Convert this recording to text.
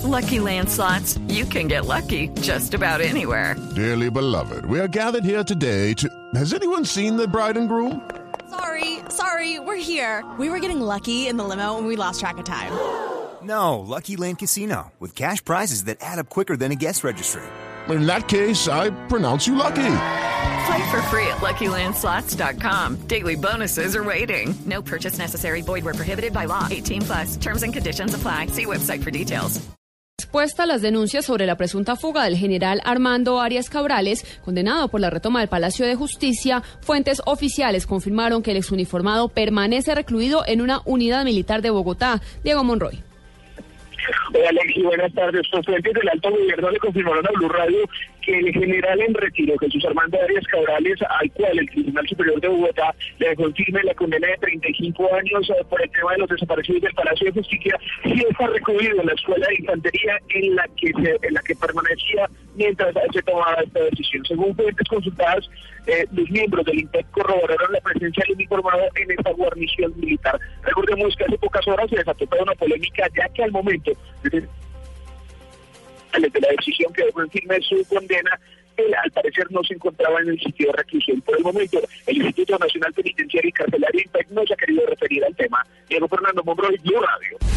Lucky Land Slots, you can get lucky just about anywhere. Dearly beloved, we are gathered here today to... Has anyone seen the bride and groom? Sorry, we're here. We were getting lucky in the limo and we lost track of time. No, Lucky Land Casino, with cash prizes that add up quicker than a guest registry. In that case, I pronounce you lucky. Play for free at LuckyLandSlots.com. Daily bonuses are waiting. No purchase necessary. Void where prohibited by law. 18+. Terms and conditions apply. See website for details. Respuesta a las denuncias sobre la presunta fuga del general Armando Arias Cabrales, condenado por la retoma del Palacio de Justicia, fuentes oficiales confirmaron que el exuniformado permanece recluido en una unidad militar de Bogotá. Diego Monroy. Hola, Alexi, buenas tardes. Los fuentes del alto gobierno le confirmaron a Blue Radio que el general en retiro, Jesús Armando Arias Cabrales, al cual el Tribunal Superior de Bogotá le dejó en firme la condena de 35 años por el tema de los desaparecidos del Palacio de Justicia, sí está recluido en la escuela de infantería en la que permanecía mientras se tomaba esta decisión. Según fuentes consultadas, los miembros del INPEC corroboraron la presencia del uniformado en esta guarnición militar. Recordemos que hace pocas horas se desató toda una polémica, ya que al momento de la decisión que dejó en firme su condena, él al parecer no se encontraba en el sitio de reclusión. Por el momento, el Instituto Nacional Penitenciario y Carcelario INPEC no se ha querido referir al tema. Diego Fernando Monroy, Blue Radio.